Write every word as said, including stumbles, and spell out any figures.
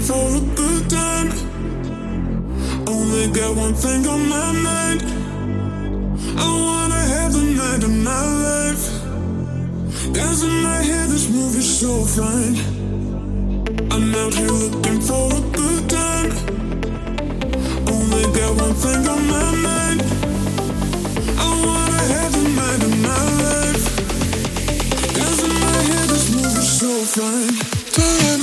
for a good time. Only got one thing on my mind. I wanna have the night of my life. Cause in my head this movie's so fine. I'm out here looking for a good time. Only got one thing on my mind. I wanna have the night of my life. Cause in my head this movie's so fine.